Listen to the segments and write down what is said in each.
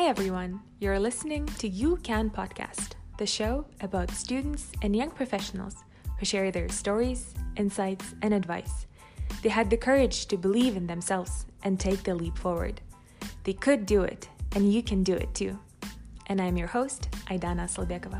Hi everyone, you're listening to You Can Podcast, the show about students and young professionals who share their stories, insights, and advice. They had the courage to believe in themselves and take the leap forward. They could do it, and you can do it too. And I'm your host, Aidana Salbekova.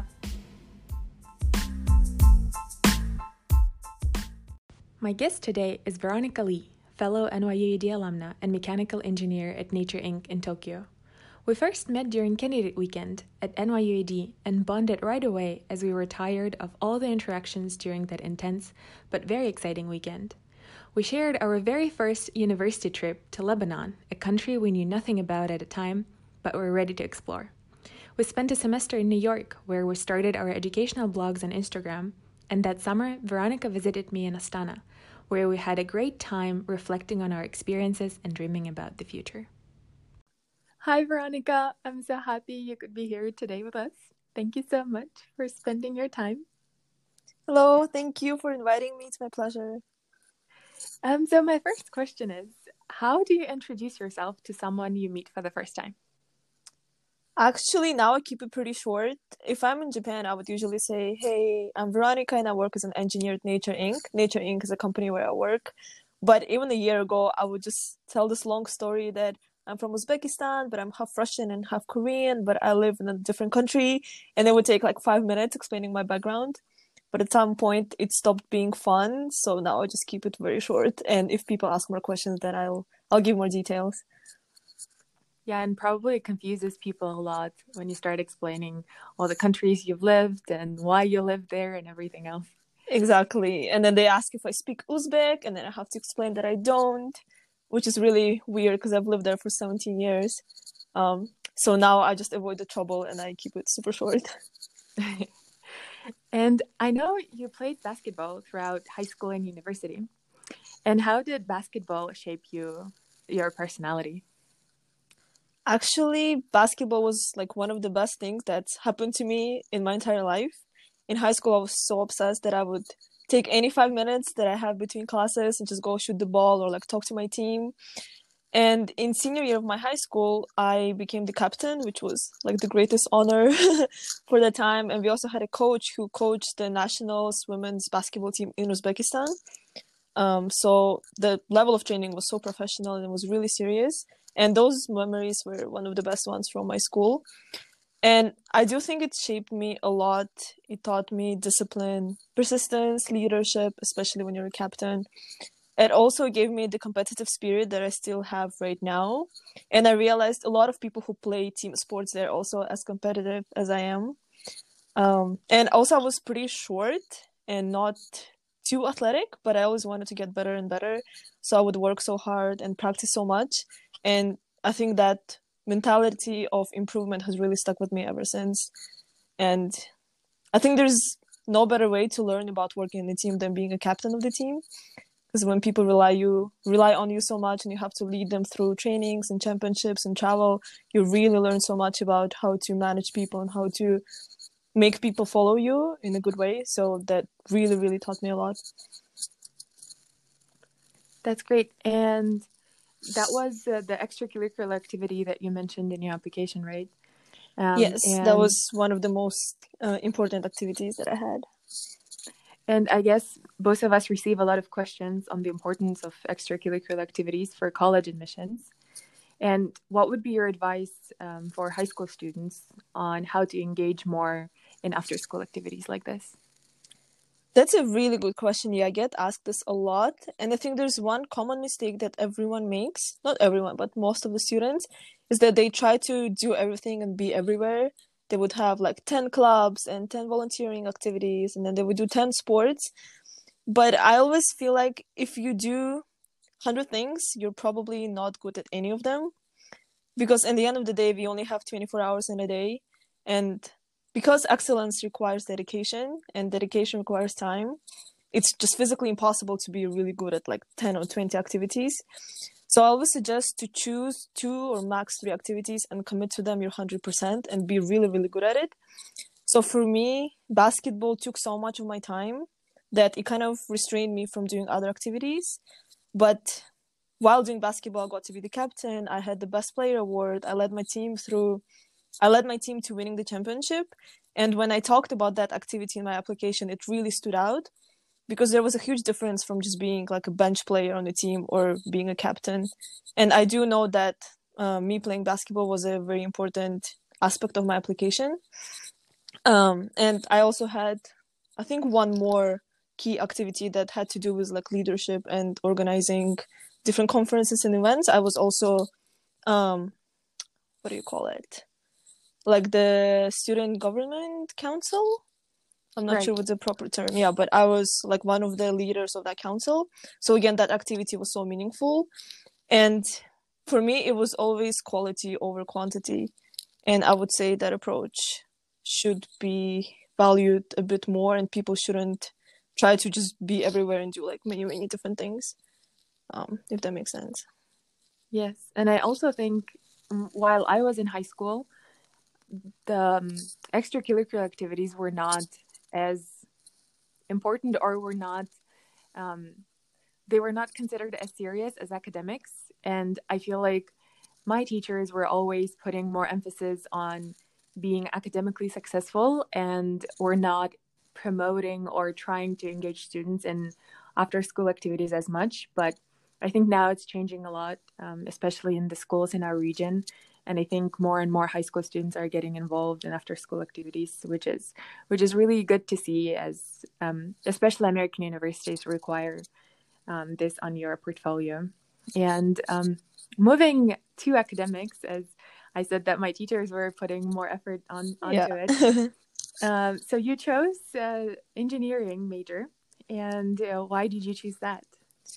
My guest today is Veronica Lee, fellow NYUAD alumna and mechanical engineer at Nature Inc. in Tokyo. We first met during candidate weekend at NYUAD and bonded right away as we were tired of all the interactions during that intense but very exciting weekend. We shared our very first university trip to Lebanon, a country we knew nothing about at the time, but were ready to explore. We spent a semester in New York, where we started our educational blogs on Instagram, and that summer, Veronica visited me in Astana, where we had a great time reflecting on our experiences and dreaming about the future. Hi, Veronica. I'm so happy you could be here today with us. Thank you so much for spending your time. Hello, thank you for inviting me. It's my pleasure. So my first question is, how do you introduce yourself to someone you meet for the first time? Actually, now I keep it pretty short. If I'm in Japan, I would usually say, hey, I'm Veronica and I work as an engineer at Nature Inc. Nature Inc. is a company where I work. But even a year ago, I would just tell this long story that I'm from Uzbekistan, but I'm half Russian and half Korean, but I live in a different country. And it would take like 5 minutes explaining my background. But at some point, it stopped being fun. So now I just keep it very short. And if people ask more questions, then I'll give more details. Yeah, and probably it confuses people a lot when you start explaining all the countries you've lived and why you live there and everything else. Exactly. And then they ask if I speak Uzbek, and then I have to explain that I don't, which is really weird because I've lived there for 17 years. So now I just avoid the trouble and I keep it super short. And I know you played basketball throughout high school and university. And how did basketball shape your personality? Actually, basketball was like one of the best things that's happened to me in my entire life. In high school, I was so obsessed that I would take any 5 minutes that I have between classes and just go shoot the ball or like talk to my team. And in senior year of my high school, I became the captain, which was like the greatest honor for the time. And we also had a coach who coached the nationals women's basketball team in Uzbekistan. So the level of training was so professional and it was really serious. And those memories were one of the best ones from my school. And I do think it shaped me a lot. It taught me discipline, persistence, leadership, especially when you're a captain. It also gave me the competitive spirit that I still have right now. And I realized a lot of people who play team sports, they're also as competitive as I am. And also I was pretty short and not too athletic, but I always wanted to get better and better. So I would work so hard and practice so much. And I think that mentality of improvement has really stuck with me ever since. And I think there's no better way to learn about working in a team than being a captain of the team. Because when people rely on you so much and you have to lead them through trainings and championships and travel, you really learn so much about how to manage people and how to make people follow you in a good way. So that really, really taught me a lot. That's great. And that was the extracurricular activity that you mentioned in your application, right? Yes, that was one of the most important activities that I had. And I guess both of us receive a lot of questions on the importance of extracurricular activities for college admissions. And what would be your advice for high school students on how to engage more in after-school activities like this? That's a really good question. Yeah, I get asked this a lot. And I think there's one common mistake that everyone makes, not everyone, but most of the students, is that they try to do everything and be everywhere. They would have like 10 clubs and 10 volunteering activities, and then they would do 10 sports. But I always feel like if you do 100 things, you're probably not good at any of them. Because in the end of the day, we only have 24 hours in a day. And because excellence requires dedication and dedication requires time, it's just physically impossible to be really good at like 10 or 20 activities. So I always suggest to choose 2 or max 3 activities and commit to them your 100% and be really, really good at it. So for me, basketball took so much of my time that it kind of restrained me from doing other activities. But while doing basketball, I got to be the captain. I had the best player award. I led my team to winning the championship. And when I talked about that activity in my application, it really stood out because there was a huge difference from just being like a bench player on the team or being a captain. And I do know that me playing basketball was a very important aspect of my application. And I also had, I think, one more key activity that had to do with like leadership and organizing different conferences and events. I was also, what do you call it? Like the student government council. I'm not Right. sure what's the proper term. Yeah, but I was like one of the leaders of that council. So again, that activity was so meaningful. And for me, it was always quality over quantity. And I would say that approach should be valued a bit more, and people shouldn't try to just be everywhere and do like many, many different things. If that makes sense. Yes. And I also think while I was in high school, the extracurricular activities were not as important or were not they were not considered as serious as academics. And I feel like my teachers were always putting more emphasis on being academically successful and were not promoting or trying to engage students in after school activities as much. But I think now it's changing a lot, especially in the schools in our region. And I think more and more high school students are getting involved in after school activities, which is really good to see, as especially American universities require this on your portfolio. And moving to academics, as I said that my teachers were putting more effort onto it. So you chose engineering major, and why did you choose that?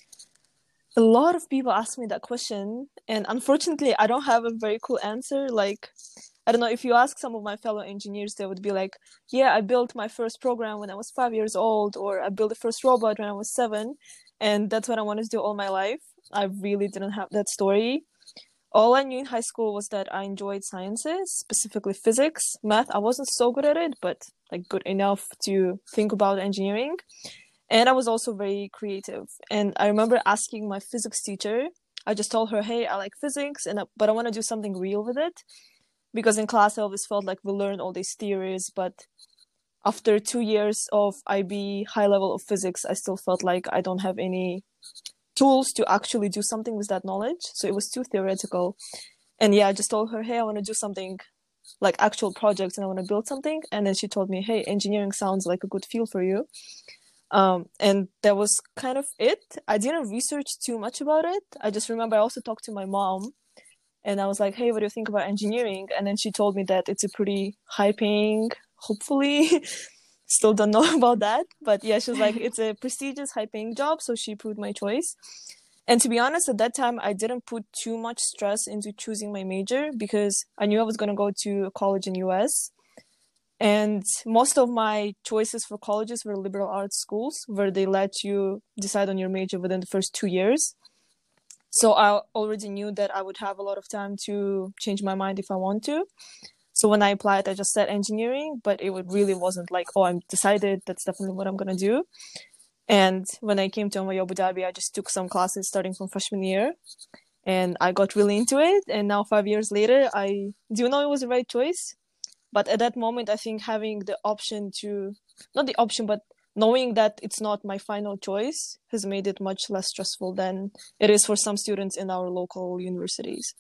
A lot of people ask me that question, and unfortunately, I don't have a very cool answer. Like, I don't know, if you ask some of my fellow engineers, they would be like, yeah, I built my first program when I was 5 years old, or I built the first robot when I was 7, and that's what I wanted to do all my life. I really didn't have that story. All I knew in high school was that I enjoyed sciences, specifically physics. Math, I wasn't so good at it, but like good enough to think about engineering. And I was also very creative. And I remember asking my physics teacher, I just told her, hey, I like physics, but I want to do something real with it. Because in class, I always felt like we learned all these theories, but after 2 years of IB high level of physics, I still felt like I don't have any tools to actually do something with that knowledge. So it was too theoretical. And yeah, I just told her, hey, I want to do something like actual projects and I want to build something. And then she told me, hey, engineering sounds like a good field for you. And that was kind of it. I didn't research too much about it. I just remember I also talked to my mom and I was like, hey, what do you think about engineering? And then she told me that it's a pretty high paying, hopefully, still don't know about that. But yeah, she was like, it's a prestigious, high paying job. So she proved my choice. And to be honest, at that time, I didn't put too much stress into choosing my major because I knew I was going to go to college in US. And most of my choices for colleges were liberal arts schools where they let you decide on your major within the first 2 years. So I already knew that I would have a lot of time to change my mind if I want to. So when I applied, I just said engineering, but it really wasn't like, oh, I'm decided that's definitely what I'm going to do. And when I came to NYU Abu Dhabi, I just took some classes starting from freshman year and I got really into it. And now 5 years later, I do know it was the right choice. But at that moment, I think having the option to, not the option, but knowing that it's not my final choice has made it much less stressful than it is for some students in our local universities.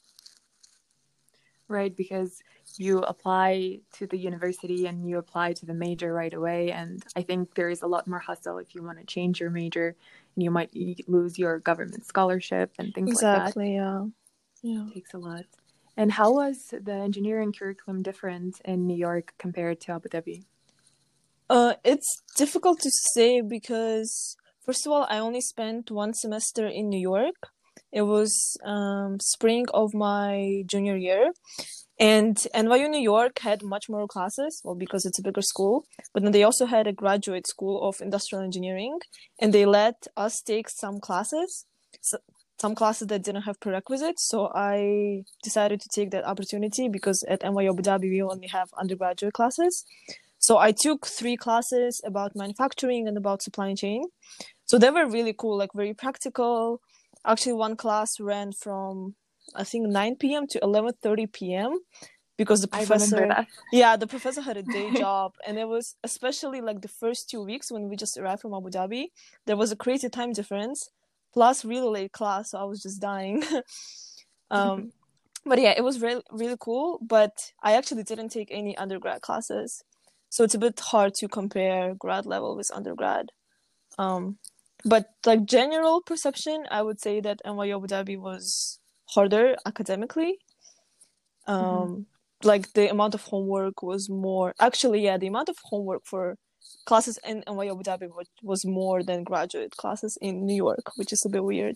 Right, because you apply to the university and you apply to the major right away. And I think there is a lot more hustle if you want to change your major and you might lose your government scholarship and things like that. Exactly, yeah. It takes a lot. And how was the engineering curriculum different in New York compared to Abu Dhabi? It's difficult to say because, first of all, I only spent one semester in New York. It was spring of my junior year. And NYU New York had much more classes, well, because it's a bigger school. But then they also had a graduate school of industrial engineering. And they let us take some classes that didn't have prerequisites. So I decided to take that opportunity because at NYU Abu Dhabi, we only have undergraduate classes. So I took 3 classes about manufacturing and about supply chain. So they were really cool, like very practical. Actually, one class ran from, I think, 9 p.m. to 11:30 p.m. because the I remember professor, that. yeah, the professor had a day job, and it was especially like the first 2 weeks when we just arrived from Abu Dhabi. There was a crazy time difference, plus really late class, so I was just dying. um, but yeah, it was really really cool. But I actually didn't take any undergrad classes, so it's a bit hard to compare grad level with undergrad. Um, but like general perception, I would say that NYU Abu Dhabi was harder academically. Mhm. Like the amount of homework was more. Actually, yeah, the amount of homework for classes in NYU Abu Dhabi was more than graduate classes in New York, which is a bit weird.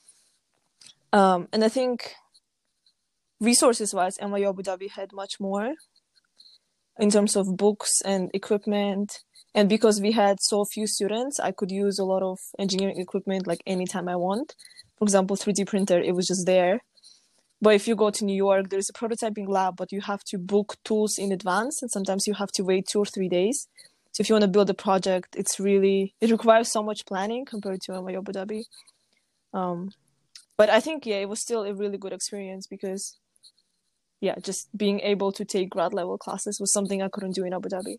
And I think resources wise, NYU Abu Dhabi had much more in terms of books and equipment. And because we had so few students, I could use a lot of engineering equipment like anytime I want. For example, 3D printer, it was just there. But if you go to New York, there's a prototyping lab, but you have to book tools in advance, and sometimes you have to wait 2 or 3 days. So if you want to build a project, it requires so much planning compared to NYU Abu Dhabi. But I think, yeah, it was still a really good experience because, yeah, just being able to take grad level classes was something I couldn't do in Abu Dhabi.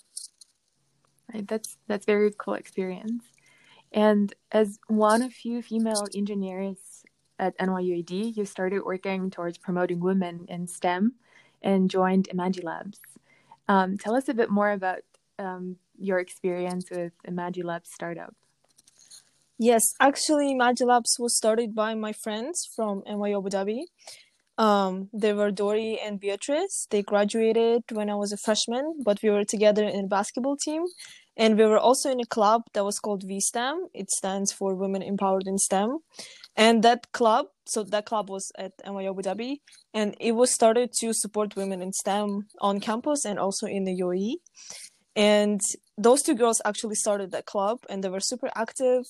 Right, that's very cool experience. And as one of few female engineers at NYUAD, you started working towards promoting women in STEM and joined Imagilabs. Tell us a bit more about your experience with Imagilabs startup. Yes, actually, Imagilabs was started by my friends from NYU Abu Dhabi. They were Dori and Beatrice. They graduated when I was a freshman, but we were together in a basketball team. And we were also in a club that was called VSTEM. It stands for Women Empowered in STEM. And that club was at NYU Abu Dhabi, and it was started to support women in STEM on campus and also in the UAE. And those two girls actually started that club, and they were super active.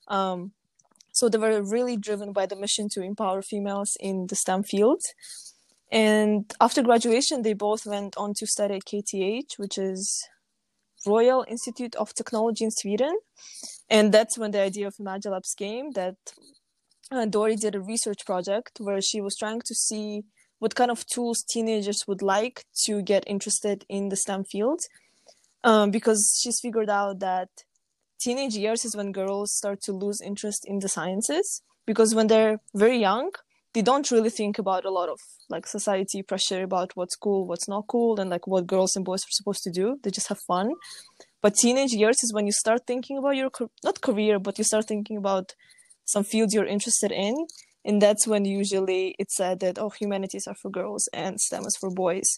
So they were really driven by the mission to empower females in the STEM field. And after graduation, they both went on to study at KTH, which is Royal Institute of Technology in Sweden. And that's when the idea of Imagilabs came, that Dori did a research project where she was trying to see what kind of tools teenagers would like to get interested in the STEM field. Because she's figured out that teenage years is when girls start to lose interest in the sciences, because when they're very young, they don't really think about a lot of like society pressure about what's cool, what's not cool, and like what girls and boys are supposed to do. They just have fun. But teenage years is when you start thinking about your not career, but you start thinking about some fields you're interested in, and that's when usually it's said that, oh, humanities are for girls and STEM is for boys.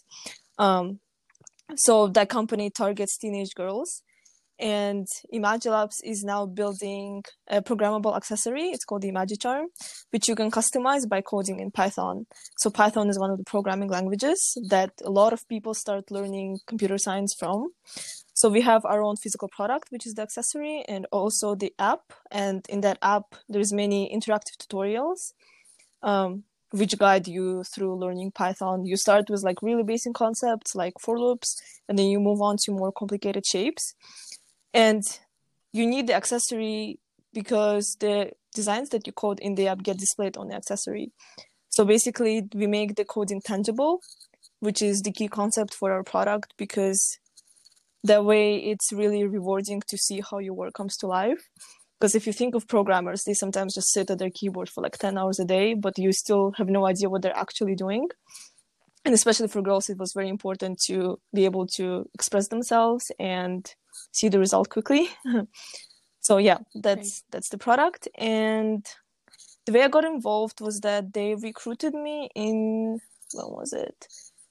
So that company targets teenage girls. And Imagilabs is now building a programmable accessory. It's called the Imagicharm, which you can customize by coding in Python. So Python is one of the programming languages that a lot of people start learning computer science from. So we have our own physical product, which is the accessory, and also the app. And in that app, there's many interactive tutorials which guide you through learning Python. You start with like really basic concepts like for loops, and then you move on to more complicated shapes. And you need the accessory because the designs that you code in the app get displayed on the accessory. So basically, we make the coding tangible, which is the key concept for our product, because that way it's really rewarding to see how your work comes to life. Because if you think of programmers, they sometimes just sit at their keyboard for like 10 hours a day, but you still have no idea what they're actually doing. And especially for girls, it was very important to be able to express themselves and see the result quickly. So yeah, that's the product. And the way I got involved was that they recruited me in, when was it?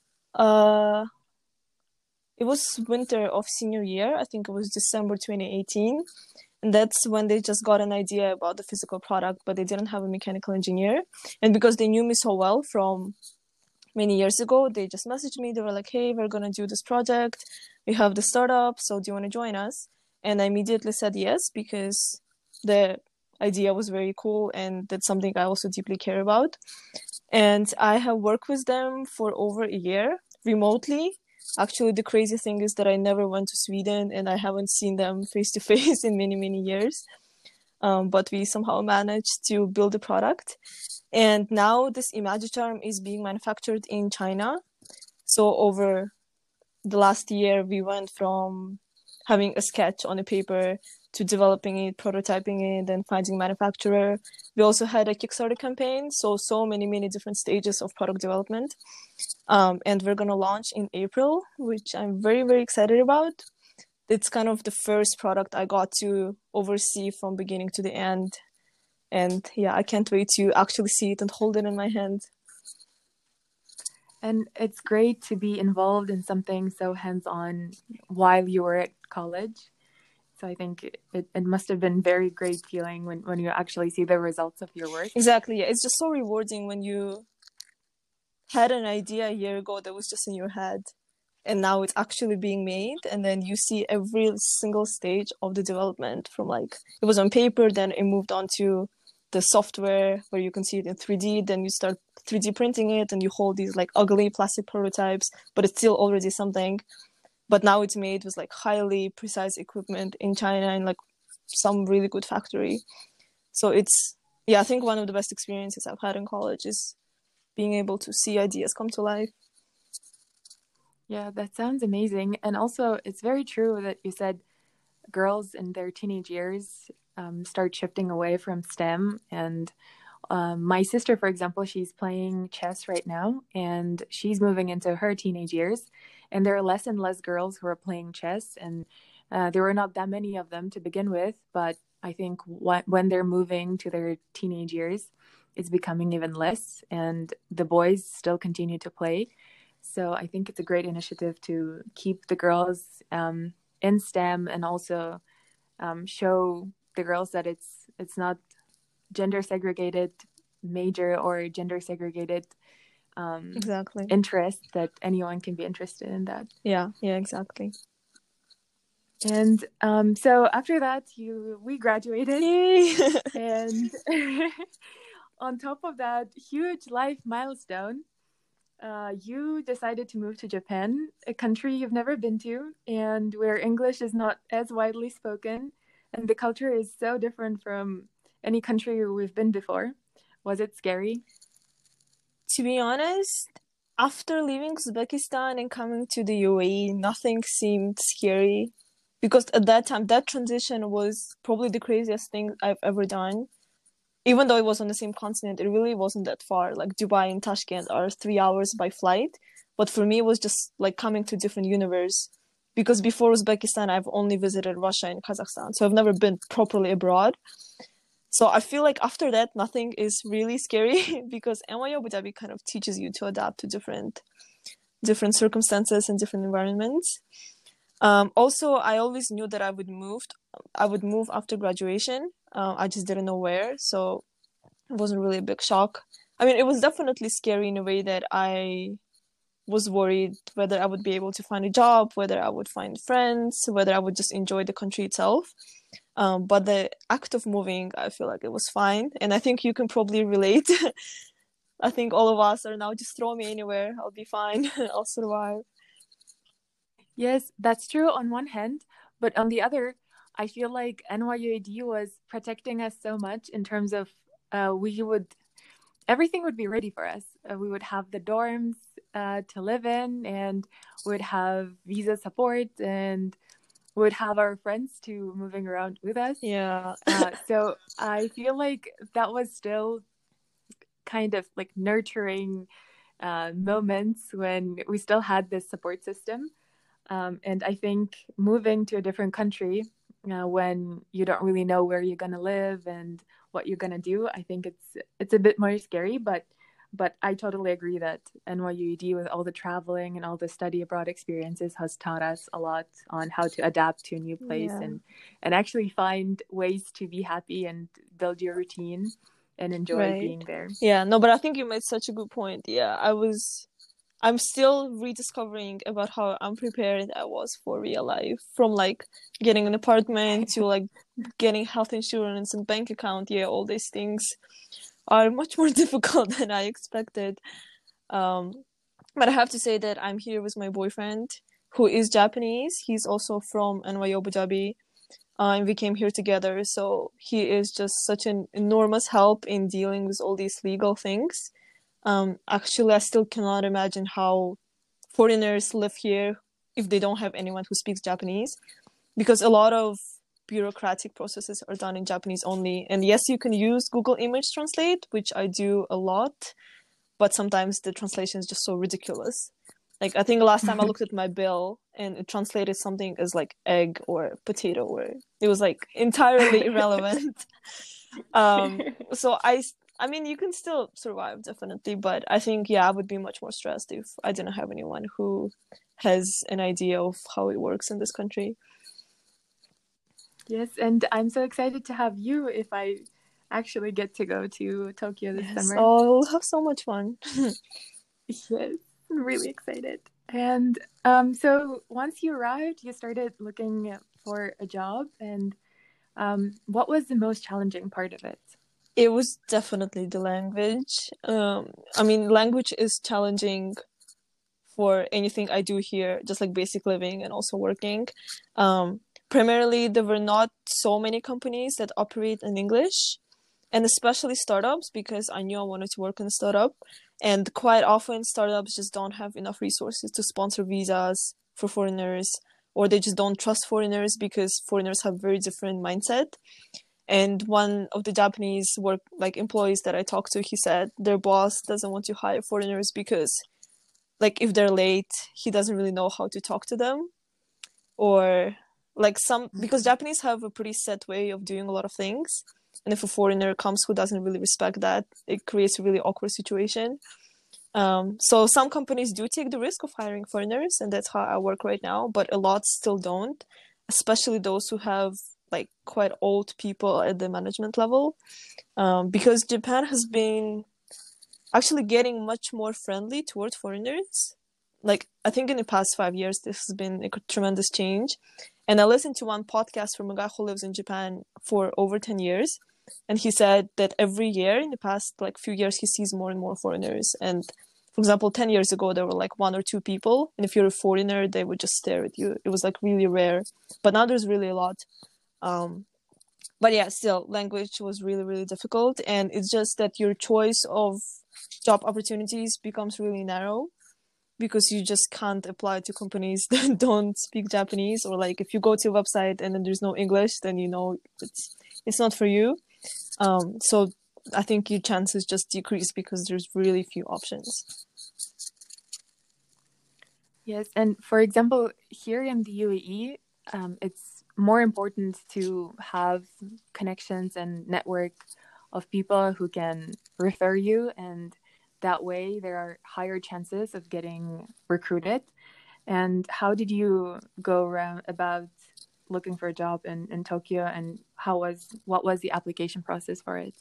It was winter of senior year. I think it was December 2018. And that's when they just got an idea about the physical product, but they didn't have a mechanical engineer. And because they knew me so well from many years ago, they just messaged me. They were like, hey, we're going to do this project. We have the startup, so do you want to join us? And I immediately said yes, because the idea was very cool, and that's something I also deeply care about. And I have worked with them for over a year remotely. Actually, the crazy thing is that I never went to Sweden, and I haven't seen them face to face in many, many years. but we somehow managed to build a product. And now this Imagicharm is being manufactured in China. So over the last year, we went from having a sketch on a paper to developing it, prototyping it, and finding a manufacturer. We also had a Kickstarter campaign, so many different stages of product development. And we're gonna launch in April, which I'm very excited about. It's kind of the first product I got to oversee from beginning to the end. And yeah, I can't wait to actually see it and hold it in my hand. And it's great to be involved in something so hands-on while you were at college. So I think it must have been very great feeling when you actually see the results of your work. Exactly. Yeah. It's just so rewarding when you had an idea a year ago that was just in your head, and now it's actually being made, and then you see every single stage of the development from like it was on paper, then it moved on to the software where you can see it in 3D, then you start 3D printing it and you hold these like ugly plastic prototypes, but it's still already something. But now it's made with like highly precise equipment in China in like some really good factory. So it's, yeah, I think one of the best experiences I've had in college is being able to see ideas come to life. Yeah, that sounds amazing. And also, it's very true that you said girls in their teenage years start shifting away from STEM. And my sister, for example, she's playing chess right now, and she's moving into her teenage years. And there are less and less girls who are playing chess, and there were not that many of them to begin with. But I think when they're moving to their teenage years, it's becoming even less, and the boys still continue to play. So I think it's a great initiative to keep the girls in STEM, and also show the girls that it's not gender segregated major or gender segregated Exactly. interest, that anyone can be interested in that. Yeah, exactly. And so after that, we graduated. Yay! And on top of that huge life milestone, you decided to move to Japan, a country you've never been to, and where English is not as widely spoken, and the culture is so different from any country we've been before. Was it scary? To be honest, after leaving Uzbekistan and coming to the UAE, nothing seemed scary, because at that time, that transition was probably the craziest thing I've ever done. Even though it was on the same continent, it really wasn't that far. Like Dubai and Tashkent are 3 hours by flight. But for me, it was just like coming to a different universe. Because before Uzbekistan, I've only visited Russia and Kazakhstan. So I've never been properly abroad. So I feel like after that, nothing is really scary because NYU Abu Dhabi kind of teaches you to adapt to different circumstances and different environments. Also, I always knew that I would move after graduation. I just didn't know where, so it wasn't really a big shock. I mean, it was definitely scary in a way that I was worried whether I would be able to find a job, whether I would find friends, whether I would just enjoy the country itself. But the act of moving, I feel like it was fine, and I think you can probably relate. I think all of us are now, just throw me anywhere, I'll be fine. I'll survive. Yes, that's true on one hand, but on the other, I feel like NYUAD was protecting us so much in terms of everything would be ready for us. We would have the dorms to live in, and would have visa support, and would have our friends too moving around with us. Yeah. So I feel like that was still kind of like nurturing moments when we still had this support system. And I think moving to a different country when you don't really know where you're going to live and what you're going to do, I think it's a bit more scary, but I totally agree that NYUED, with all the traveling and all the study abroad experiences, has taught us a lot on how to adapt to a new place, and actually find ways to be happy and build your routine and enjoy being there. Yeah, no, but I think you made such a good point. Yeah, I'm still rediscovering about how unprepared I was for real life, from like getting an apartment to like getting health insurance and bank account. Yeah, all these things are much more difficult than I expected. But I have to say that I'm here with my boyfriend, who is Japanese. He's also from NYU Abu Dhabi. and we came here together. So he is just such an enormous help in dealing with all these legal things. Actually, I still cannot imagine how foreigners live here if they don't have anyone who speaks Japanese, because a lot of bureaucratic processes are done in Japanese only. And yes, you can use Google Image Translate, which I do a lot, but sometimes the translation is just so ridiculous. Like, I think last time I looked at my bill and it translated something as like egg or potato, or it was like entirely irrelevant. So I mean, you can still survive, definitely, but I think, yeah, I would be much more stressed if I didn't have anyone who has an idea of how it works in this country. Yes, and I'm so excited to have you if I actually get to go to Tokyo this summer. Oh, we'll have so much fun. Yes, I'm really excited. And so once you arrived, you started looking for a job, and what was the most challenging part of it? It was definitely the language. I mean, language is challenging for anything I do here, just like basic living and also working. Primarily, there were not so many companies that operate in English, and especially startups, because I knew I wanted to work in a startup. And quite often, startups just don't have enough resources to sponsor visas for foreigners, or they just don't trust foreigners because foreigners have very different mindset. And one of the Japanese employees that I talked to, he said their boss doesn't want to hire foreigners because, like, if they're late, he doesn't really know how to talk to them, or because Japanese have a pretty set way of doing a lot of things, and if a foreigner comes who doesn't really respect that, it creates a really awkward situation. So some companies do take the risk of hiring foreigners, and that's how I work right now, but a lot still don't, especially those who have like quite old people at the management level, because Japan has been actually getting much more friendly towards foreigners. Like, I think in the past 5 years, this has been a tremendous change. And I listened to one podcast from a guy who lives in Japan for over 10 years. And he said that every year in the past few years, he sees more and more foreigners. And for example, 10 years ago, there were like one or two people. And if you're a foreigner, they would just stare at you. It was like really rare. But now there's really a lot. But yeah, still, language was really, really difficult. And it's just that your choice of job opportunities becomes really narrow, because you just can't apply to companies that don't speak Japanese, or like if you go to a website and then there's no English, then you know it's not for you. So I think your chances just decrease because there's really few options. Yes, and for example, here in the UAE, it's more important to have connections and network of people who can refer you, and that way there are higher chances of getting recruited. And how did you go around about looking for a job in Tokyo, and what was the application process for it?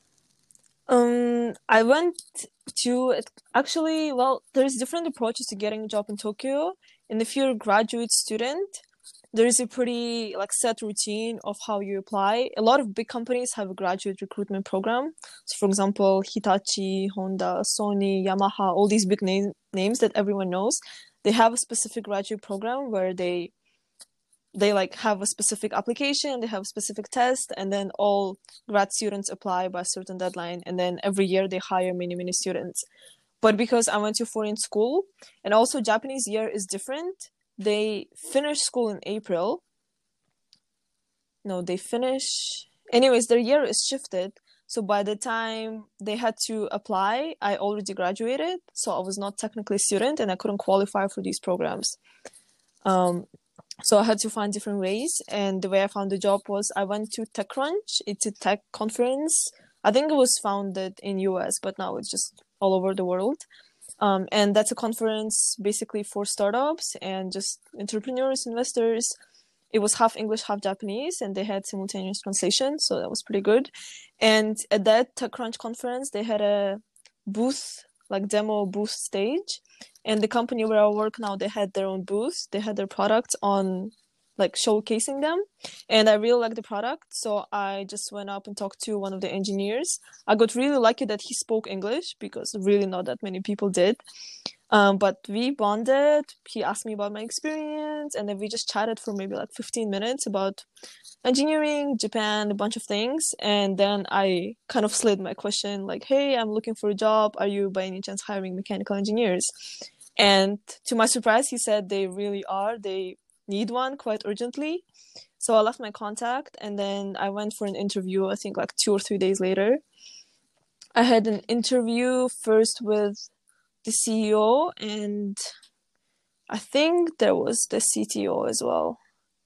I went to actually, well, there's different approaches to getting a job in Tokyo. And if you're a graduate student, there is a pretty set routine of how you apply. A lot of big companies have a graduate recruitment program. So for example, Hitachi, Honda, Sony, Yamaha, all these big names that everyone knows, they have a specific graduate program where they have a specific application, they have a specific test, and then all grad students apply by a certain deadline, and then every year they hire many students. But because I went to foreign school, and also Japanese year is different, they finish school in April. No, they finish... Anyways, their year is shifted. So by the time they had to apply, I already graduated. So I was not technically a student and I couldn't qualify for these programs. So I had to find different ways. And the way I found the job was I went to TechCrunch. It's a tech conference. I think it was founded in US, but now it's just all over the world. And that's a conference basically for startups and just entrepreneurs, investors. It was half English, half Japanese, and they had simultaneous translation, so that was pretty good. And at that TechCrunch conference, they had a booth, demo booth stage. And the company where I work now, they had their own booth. They had their products on, showcasing them. And I really liked the product, so I just went up and talked to one of the engineers. I got really lucky that he spoke English, because really not that many people did. But we bonded. He asked me about my experience. questions, and then we just chatted for maybe like 15 minutes about engineering, Japan, a bunch of things. And then I kind of slid my question like, hey, I'm looking for a job. Are you by any chance hiring mechanical engineers? And to my surprise, he said they really are. They need one quite urgently. So I left my contact, and then I went for an interview, I think like 2 or 3 days later. I had an interview first with the CEO, and I think there was the CTO as well.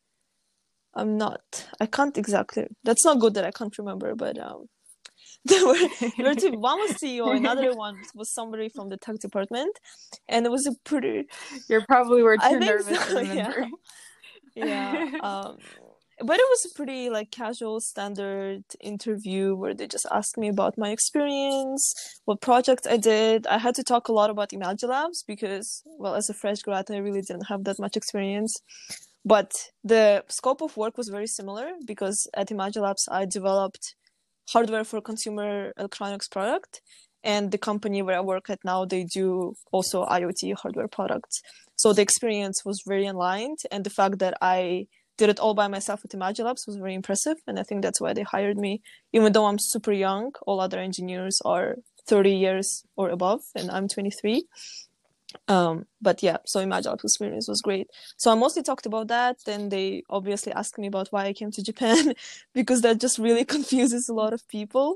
I can't exactly, that's not good that I can't remember, but there were two. One was CEO, another one was somebody from the tech department, and it was a pretty. You probably were I too think nervous so, to remember. yeah. But it was a pretty like casual, standard interview where they just asked me about my experience, what projects I did. I had to talk a lot about Imagilabs because, well, as a fresh grad, I really didn't have that much experience. But the scope of work was very similar because at Imagilabs, I developed hardware for consumer electronics product, and the company where I work at now, they do also IoT hardware products. So the experience was very aligned, and the fact that I did it all by myself at Imagilabs was very impressive, and I think that's why they hired me. Even though I'm super young, all other engineers are 30 years or above, and I'm 23. But yeah, so Imagilabs experience was great. So I mostly talked about that. Then they obviously asked me about why I came to Japan because that just really confuses a lot of people.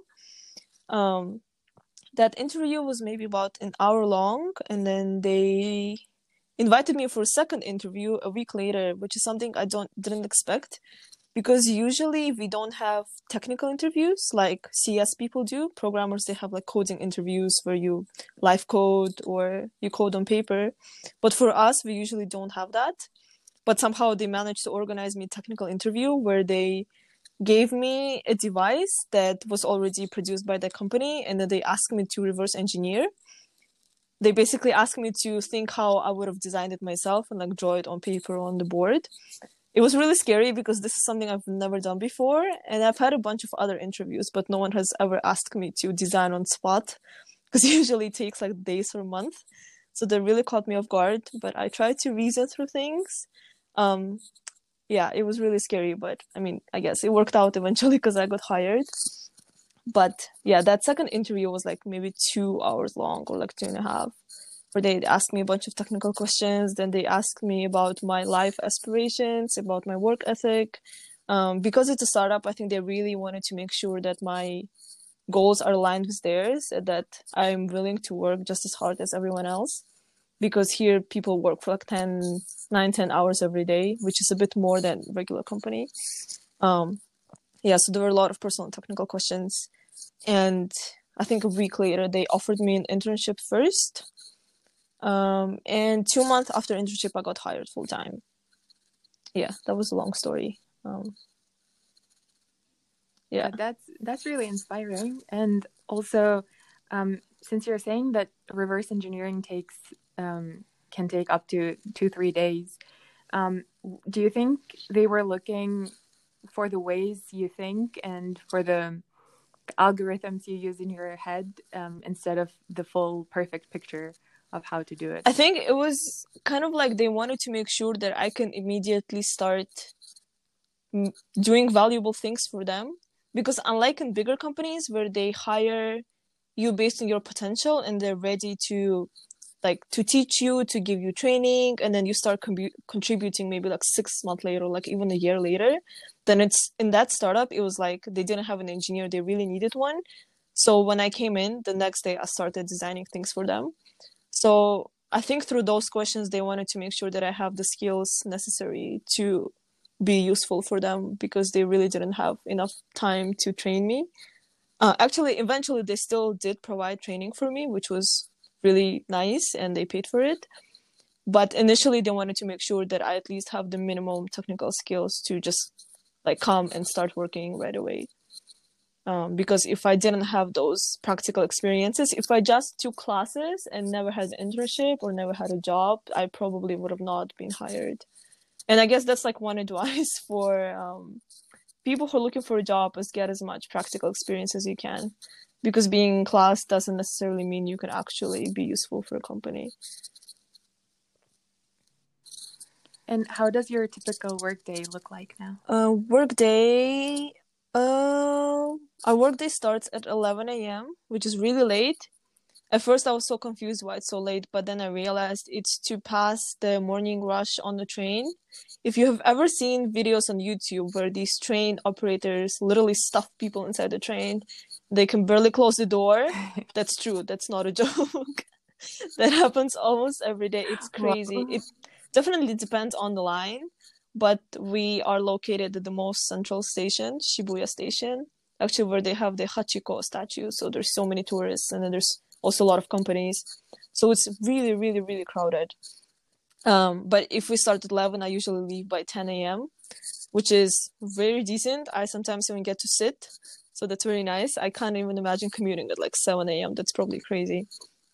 That interview was maybe about an hour long, and then they invited me for a second interview a week later, which is something I didn't expect, because usually we don't have technical interviews like CS people do. Programmers, they have like coding interviews where you live code or you code on paper. But for us, we usually don't have that. But somehow they managed to organize me a technical interview where they gave me a device that was already produced by the company, and then they asked me to reverse engineer. They basically asked me to think how I would have designed it myself and like draw it on paper on the board. It was really scary because this is something I've never done before, and I've had a bunch of other interviews, but no one has ever asked me to design on spot because usually it takes like days or a month. So they really caught me off guard, but I tried to reason through things. Yeah, it was really scary, but I mean, I guess it worked out eventually because I got hired. But yeah, that second interview was like maybe 2 hours long or like 2.5, where they asked me a bunch of technical questions. Then they asked me about my life aspirations, about my work ethic. Because it's a startup, I think they really wanted to make sure that my goals are aligned with theirs, and that I'm willing to work just as hard as everyone else. Because here people work for like 10 hours every day, which is a bit more than regular company. Yeah, so there were a lot of personal and technical questions. And I think a week later, they offered me an internship first. And 2 months after internship, I got hired full time. Yeah, that was a long story. Yeah, that's really inspiring. And also, since you're saying that reverse engineering can take up to 2-3 days, do you think they were looking for the ways you think and for the algorithms you use in your head, instead of the full perfect picture of how to do it? I think it was kind of like they wanted to make sure that I can immediately start doing valuable things for them. Because unlike in bigger companies where they hire you based on your potential and they're ready to teach you, to give you training, and then you start contributing maybe like 6 months later, like even a year later, then it's in that startup, it was like they didn't have an engineer, they really needed one. So when I came in, the next day I started designing things for them. So I think through those questions, they wanted to make sure that I have the skills necessary to be useful for them, because they really didn't have enough time to train me. Actually, eventually, they still did provide training for me, which was really nice, and they paid for it. But initially, they wanted to make sure that I at least have the minimum technical skills to just like come and start working right away. Because if I didn't have those practical experiences, if I just took classes and never had an internship or never had a job, I probably would have not been hired. And I guess that's like one advice for people who are looking for a job, is get as much practical experience as you can. Because being in class doesn't necessarily mean you can actually be useful for a company. And how does your typical workday look like now? Workday. Our workday starts at 11 a.m., which is really late. At first, I was so confused why it's so late, but then I realized it's to pass the morning rush on the train. If you have ever seen videos on YouTube where these train operators literally stuff people inside the train, they can barely close the door. That's true. That's not a joke. That happens almost every day. It's crazy. Wow. It definitely depends on the line, but we are located at the most central station, Shibuya Station, actually where they have the Hachiko statue. So there's so many tourists, and then there's also a lot of companies. So it's really, really, really crowded. But if we start at 11, I usually leave by 10 a.m., which is very decent. I sometimes even get to sit. So that's very nice. I can't even imagine commuting at like 7 a.m. That's probably crazy.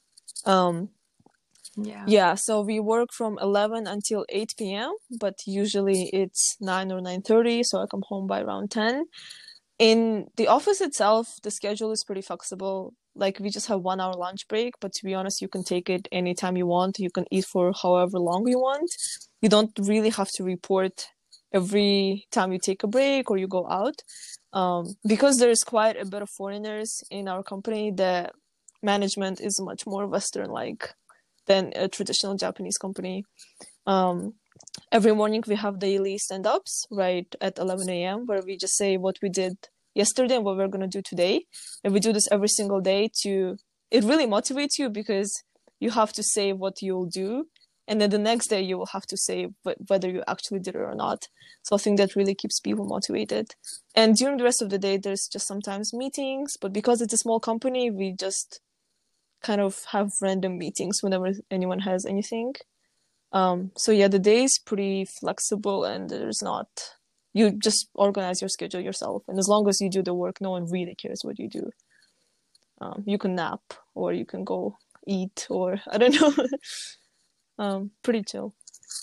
Yeah, so we work from 11 until 8 p.m., but usually it's 9 or 9:30, so I come home by around 10. In the office itself, the schedule is pretty flexible. Like, we just have 1 hour lunch break, but to be honest, you can take it anytime you want. You can eat for however long you want. You don't really have to report every time you take a break or you go out. Because there's quite a bit of foreigners in our company, the management is much more Western-like than a traditional Japanese company. Every morning we have daily stand-ups right at 11 a.m. where we just say what we did yesterday and what we're going to do today. And we do this every single day it really motivates you because you have to say what you'll do. And then the next day you will have to say whether you actually did it or not. So I think that really keeps people motivated. And during the rest of the day, there's just sometimes meetings, but because it's a small company, we just kind of have random meetings whenever anyone has anything. So yeah, the day is pretty flexible, and you just organize your schedule yourself. And as long as you do the work, no one really cares what you do. You can nap, or you can go eat, or I don't know. Pretty chill.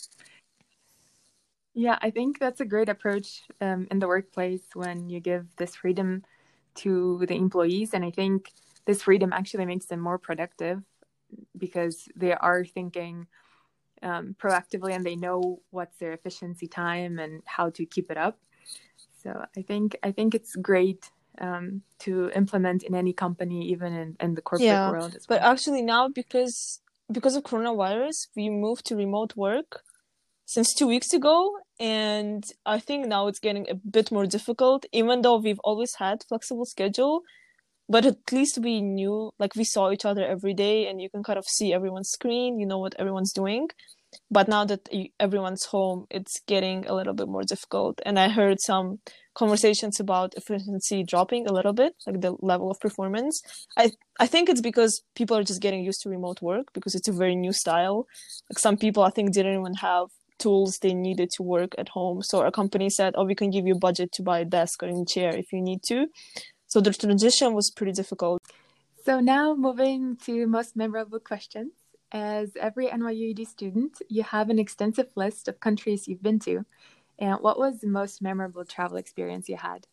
Yeah, I think that's a great approach in the workplace when you give this freedom to the employees. And I think this freedom actually makes them more productive because they are thinking proactively and they know what's their efficiency time and how to keep it up. So I think it's great to implement in any company, even in the corporate world as well. But actually now, because of coronavirus, we moved to remote work since 2 weeks ago, and I think now it's getting a bit more difficult, even though we've always had flexible schedule. But at least we knew, like, we saw each other every day, and you can kind of see everyone's screen, you know what everyone's doing. But now that everyone's home, it's getting a little bit more difficult. And I heard some conversations about efficiency dropping a little bit, like the level of performance. I think it's because people are just getting used to remote work because it's a very new style. Like, some people, I think, didn't even have tools they needed to work at home. So our company said, oh, we can give you a budget to buy a desk or a chair if you need to. So the transition was pretty difficult. So now moving to most memorable questions. As every NYUED student, you have an extensive list of countries you've been to. And what was the most memorable travel experience you had?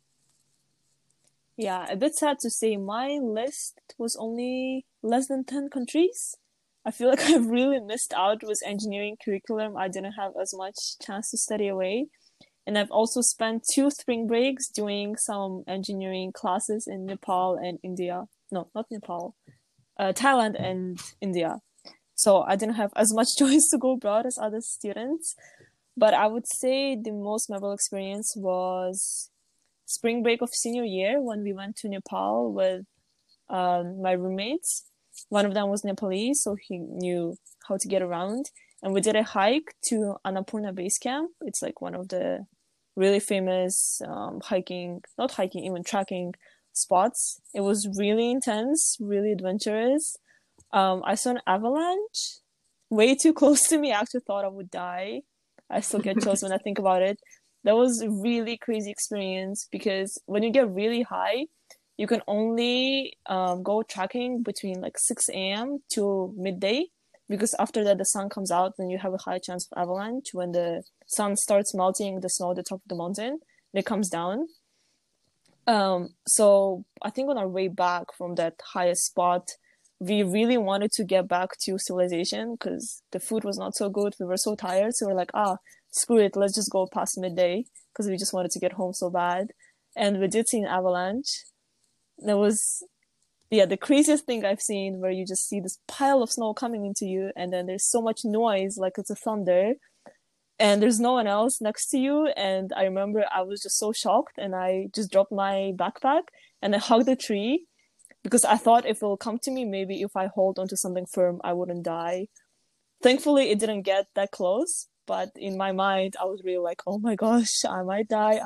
Yeah, a bit sad to say my list was only less than 10 countries. I feel like I've really missed out with engineering curriculum. I didn't have as much chance to study away. And I've also spent 2 spring breaks doing some engineering classes in Nepal and India. No, not Nepal. Thailand and India. So I didn't have as much choice to go abroad as other students. But I would say the most memorable experience was spring break of senior year when we went to Nepal with my roommates. One of them was Nepalese, so he knew how to get around. And we did a hike to Annapurna Base Camp. It's like one of the really famous even trekking spots. It was really intense, really adventurous. I saw an avalanche way too close to me. I actually thought I would die. I still get chills when I think about it. That was a really crazy experience because when you get really high, you can only go trekking between like 6 a.m. to midday, because after that the sun comes out and you have a high chance of avalanche when the sun starts melting the snow at the top of the mountain and it comes down. So I think on our way back from that highest spot, we really wanted to get back to civilization because the food was not so good. We were so tired. So we're like, screw it. Let's just go past midday because we just wanted to get home so bad. And we did see an avalanche. That was, the craziest thing I've seen, where you just see this pile of snow coming into you, and then there's so much noise, like it's a thunder, and there's no one else next to you. And I remember I was just so shocked, and I just dropped my backpack and I hugged the tree because I thought if it'll come to me, maybe if I hold onto something firm, I wouldn't die. Thankfully, it didn't get that close, but in my mind, I was really like, oh my gosh, I might die.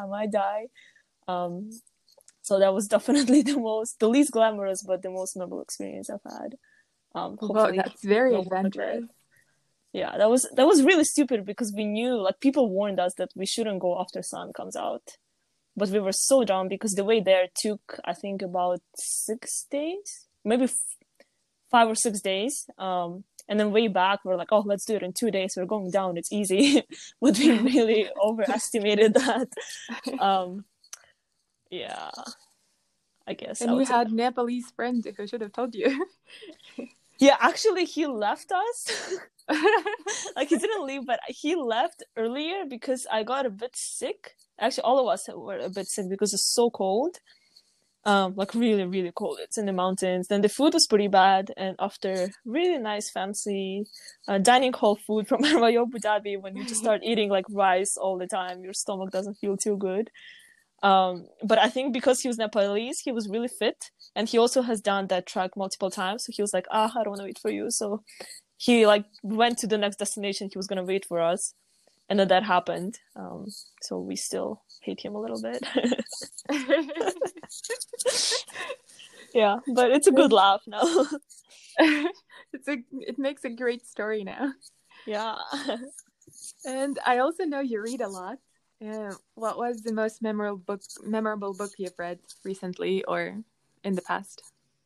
So that was definitely the least glamorous, but the most memorable experience I've had. Wow, that's very adventurous. Yeah, that was really stupid because we knew, like, people warned us that we shouldn't go after sun comes out. But we were so dumb because the way there took, I think, about 6 days, maybe 5 or 6 days. And then way back, we're like, oh, let's do it in 2 days. We're going down. It's easy. But we really overestimated that. Yeah, I guess. And you had Nepalese friends who should have told you. Yeah, actually, he left us. Like, he didn't leave, but he left earlier because I got a bit sick. Actually, all of us were a bit sick because it's so cold. Like, really, really cold. It's in the mountains. Then the food was pretty bad. And after really nice, fancy dining hall food from Royal Abu Dhabi, when you just start eating, like, rice all the time, your stomach doesn't feel too good. But I think because he was Nepalese, he was really fit, and he also has done that trek multiple times. So he was like, I don't want to wait for you. So he like went to the next destination. He was going to wait for us. And then that happened. So we still hate him a little bit. Yeah, but it's a good laugh now. It makes a great story now. Yeah. And I also know you read a lot. What was the most memorable book you've read recently or in the past?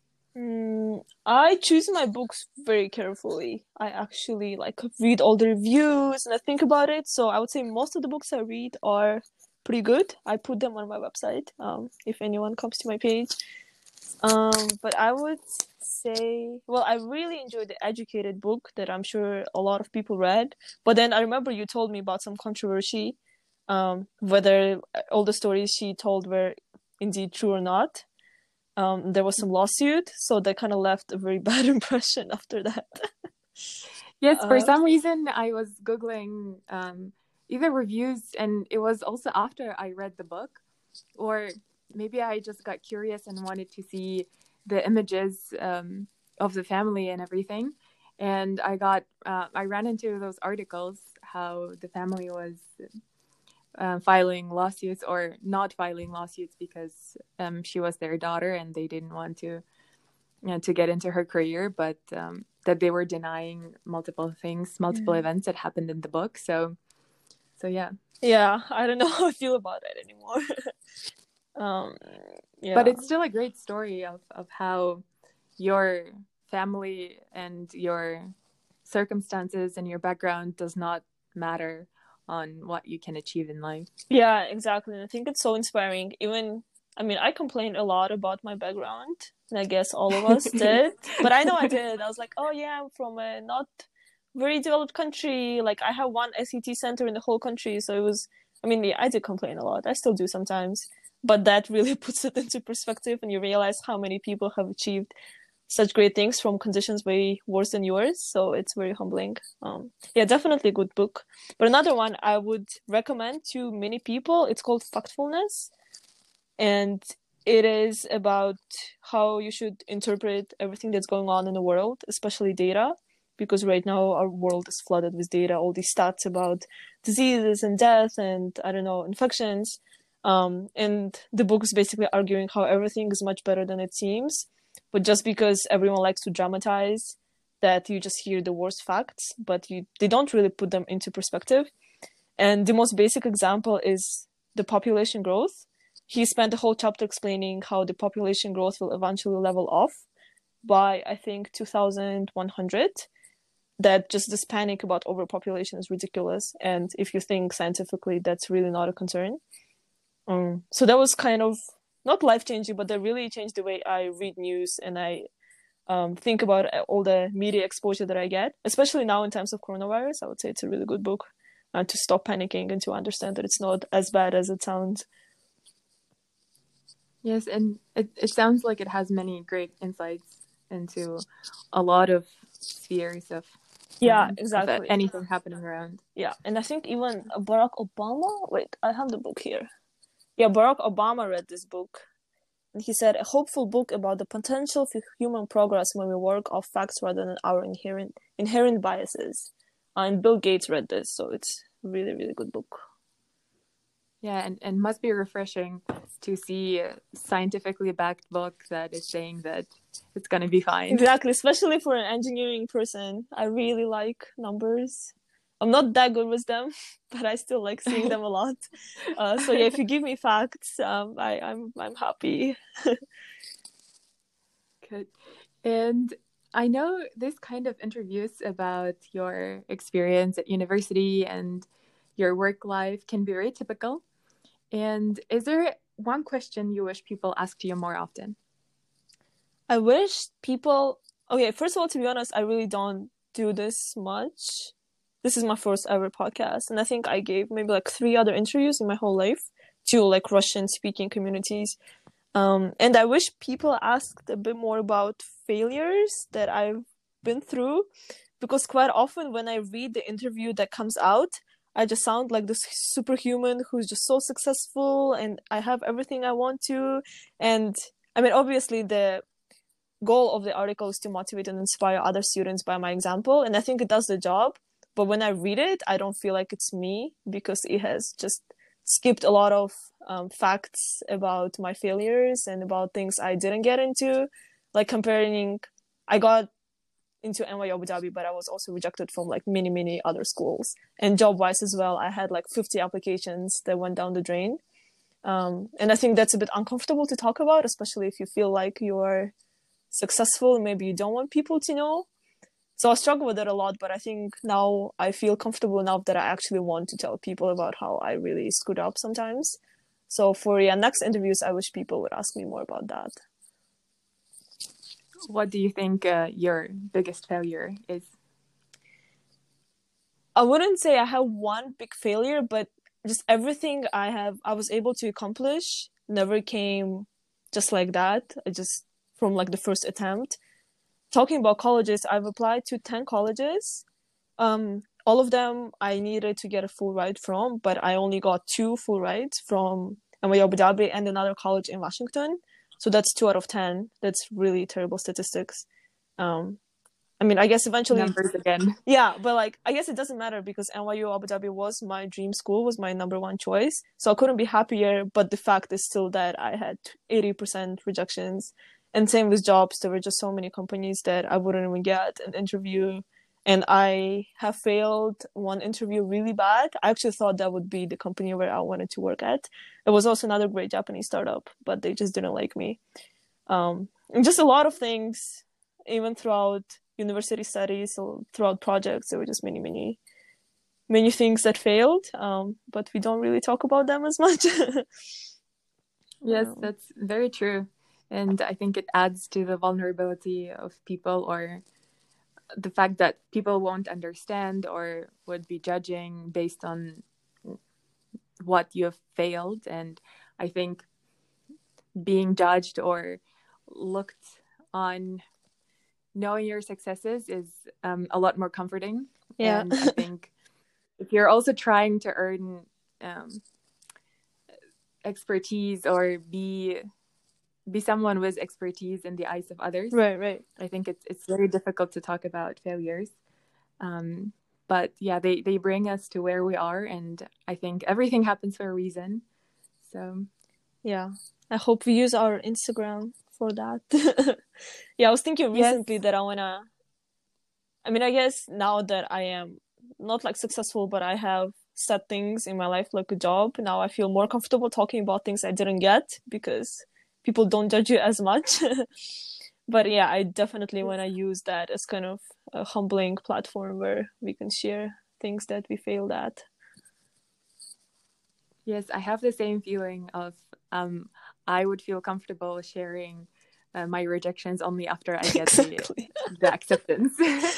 I choose my books very carefully. I actually read all the reviews and I think about it. So I would say most of the books I read are pretty good. I put them on my website, if anyone comes to my page. But I would say, I really enjoyed The Educated book that I'm sure a lot of people read. But then I remember you told me about some controversy, whether all the stories she told were indeed true or not. There was some lawsuit, so that kind of left a very bad impression after that. Yes, for some reason I was Googling either reviews, and it was also after I read the book, or maybe I just got curious and wanted to see the images of the family and everything. And I ran into those articles how the family was filing lawsuits or not filing lawsuits because she was their daughter and they didn't want to get into her career, but that they were denying multiple events that happened in the book. So yeah. Yeah, I don't know how I feel about it anymore. Yeah. But it's still a great story of how your family and your circumstances and your background does not matter on what you can achieve in life. Yeah, exactly. And I think it's so inspiring. I complained a lot about my background, and I guess all of us did. But I know I did. I was like, oh yeah, I'm from a not very developed country. Like, I have one SET center in the whole country. So it was, I did complain a lot. I still do sometimes. But that really puts it into perspective, and you realize how many people have achieved such great things from conditions way worse than yours. So it's very humbling. Yeah, definitely a good book. But another one I would recommend to many people, it's called Factfulness. And it is about how you should interpret everything that's going on in the world, especially data. Because right now our world is flooded with data, all these stats about diseases and death and, infections. And the book is basically arguing how everything is much better than it seems. But just because everyone likes to dramatize that, you just hear the worst facts, but they don't really put them into perspective. And the most basic example is the population growth. He spent a whole chapter explaining how the population growth will eventually level off by, I think, 2100. That just this panic about overpopulation is ridiculous. And if you think scientifically, that's really not a concern. So that was kind of not life-changing, but that really changed the way I read news and I think about all the media exposure that I get, especially now in times of coronavirus. I would say it's a really good book to stop panicking and to understand that it's not as bad as it sounds. Yes, and it sounds like it has many great insights into a lot of spheres of Exactly. anything happening around. Yeah, and I think even Barack Obama. Wait, I have the book here. Yeah, Barack Obama read this book, and he said a hopeful book about the potential for human progress when we work off facts rather than our inherent biases. And Bill Gates read this, so it's a really, really good book. Yeah, and must be refreshing to see a scientifically backed book that is saying that it's going to be fine. Exactly, especially for an engineering person. I really like numbers. I'm not that good with them, but I still like seeing them a lot. So yeah, if you give me facts, I'm happy. Good. And I know this kind of interviews about your experience at university and your work life can be very typical. And is there one question you wish people asked you more often? I wish people... Okay, first of all, to be honest, I really don't do this much. This is my first ever podcast, and I think I gave maybe like 3 other interviews in my whole life to like Russian speaking communities. And I wish people asked a bit more about failures that I've been through, because quite often when I read the interview that comes out, I just sound like this superhuman who's just so successful and I have everything I want to. And I mean, obviously the goal of the article is to motivate and inspire other students by my example, and I think it does the job. But when I read it, I don't feel like it's me, because it has just skipped a lot of facts about my failures and about things I didn't get into. Like comparing, I got into NYU Abu Dhabi, but I was also rejected from like many other schools. And job-wise as well, I had like 50 applications that went down the drain. And I think that's a bit uncomfortable to talk about, especially if you feel like you're successful and maybe you don't want people to know. So I struggle with it a lot, but I think now I feel comfortable enough that I actually want to tell people about how I really screwed up sometimes. So for next interviews, I wish people would ask me more about that. What do you think your biggest failure is? I wouldn't say I have one big failure, but just everything I was able to accomplish never came just like that. I just from like the first attempt. Talking about colleges, I've applied to 10 colleges. All of them I needed to get a full ride from, but I only got 2 full rides from NYU Abu Dhabi and another college in Washington. So that's 2 out of 10. That's really terrible statistics. I mean, I guess eventually... Numbers again. Yeah, but like, I guess it doesn't matter because NYU Abu Dhabi was my dream school, was my number 1 choice. So I couldn't be happier, but the fact is still that I had 80% rejections. And same with jobs, there were just so many companies that I wouldn't even get an interview. And I have failed one interview really bad. I actually thought that would be the company where I wanted to work at. It was also another great Japanese startup, but they just didn't like me. And just a lot of things, even throughout university studies, or throughout projects, there were just many things that failed. But we don't really talk about them as much. Yes, that's very true. And I think it adds to the vulnerability of people, or the fact that people won't understand or would be judging based on what you have failed. And I think being judged or looked on, knowing your successes is a lot more comforting. Yeah. And I think if you're also trying to earn expertise or be someone with expertise in the eyes of others, right, I think it's very difficult to talk about failures. But yeah, they bring us to where we are, and I think everything happens for a reason. So yeah, I hope we use our Instagram for that. Yeah, I was thinking recently that I mean, I guess now that I am not like successful, but I have set things in my life like a job, now I feel more comfortable talking about things I didn't get because people don't judge you as much. But yeah, I definitely want to use that as kind of a humbling platform where we can share things that we failed at. Yes, I have the same feeling of I would feel comfortable sharing my rejections only after I get Exactly. the acceptance.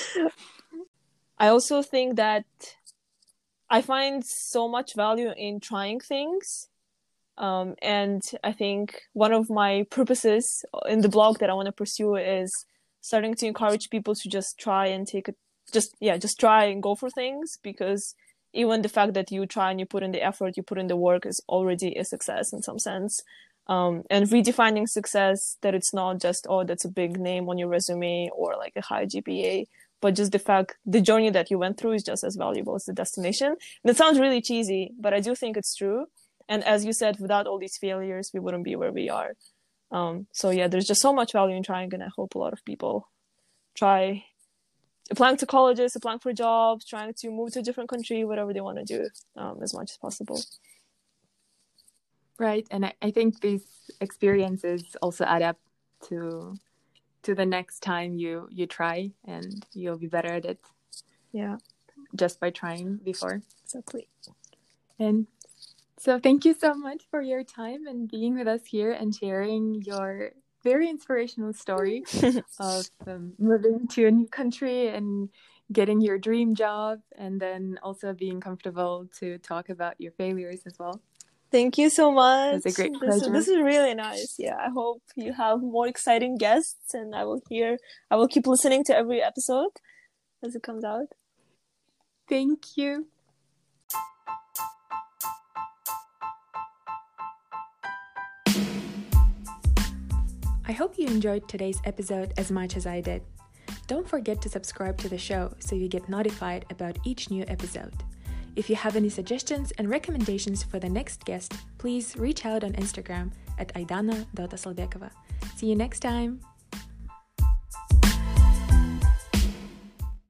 I also think that I find so much value in trying things. And I think one of my purposes in the blog that I want to pursue is starting to encourage people to just try and just try and go for things, because even the fact that you try and you put in the effort, you put in the work is already a success in some sense. And redefining success, that it's not just, oh, that's a big name on your resume or like a high GPA, but just the journey that you went through is just as valuable as the destination. And it sounds really cheesy, but I do think it's true. And as you said, without all these failures, we wouldn't be where we are. So yeah, there's just so much value in trying, and I hope a lot of people try applying to colleges, applying for jobs, trying to move to a different country, whatever they want to do, as much as possible. Right. And I think these experiences also add up to the next time you try, and you'll be better at it. Yeah. Just by trying before. Exactly. And so thank you so much for your time and being with us here and sharing your very inspirational story of moving to a new country and getting your dream job, and then also being comfortable to talk about your failures as well. Thank you so much. It's a great pleasure. This is really nice. Yeah, I hope you have more exciting guests, and I will keep listening to every episode as it comes out. Thank you. I hope you enjoyed today's episode as much as I did. Don't forget to subscribe to the show so you get notified about each new episode. If you have any suggestions and recommendations for the next guest, please reach out on Instagram at aidana.asalbekova. See you next time!